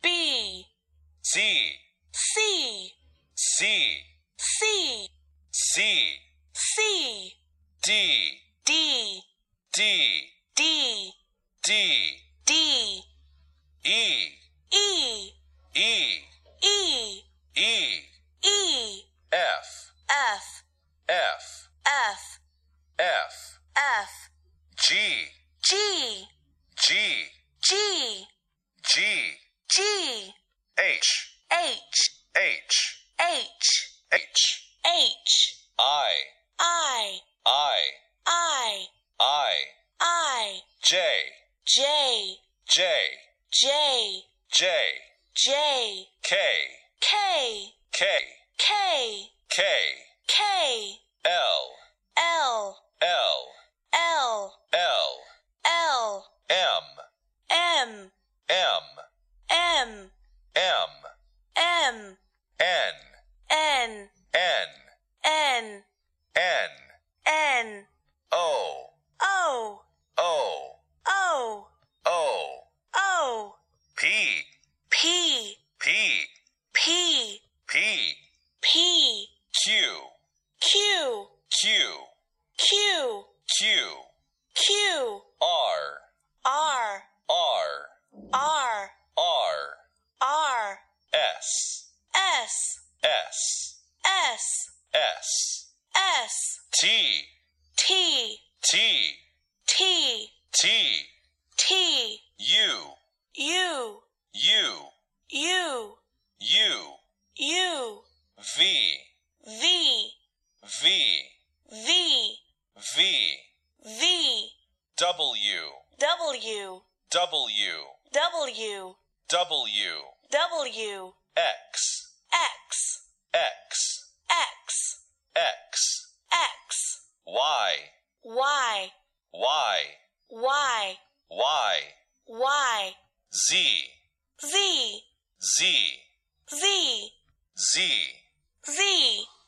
B, C, C, C, C, C, C, D, D, D, D, D, D, E, E, E, E, E, E, F, F, F, F, F, F, G, G, G, G, G, G, H, H, H, H, H, H, I, I, I, I, I, I, J, J, J, J, J, J, K, K, K, K, K, K, L, L, L, L, L, L, M, M, M, M, M, M, N, N, N, N, N, N, O, O, O, O, O, O, P, P, P, P, P, P, Q, Q, Q, Q, Q, Q, R, R, R, R, R, R, S, S, S, S, S, S, T, T, T, T, T, T, U, U, U, U, U, U, V, V, V, V, V, V, W, W, W, W, W, W, X, X, X, X, X, X, Y, Y, Y, Y, Y, Y, Z, Z, Z, Z, Z, Z,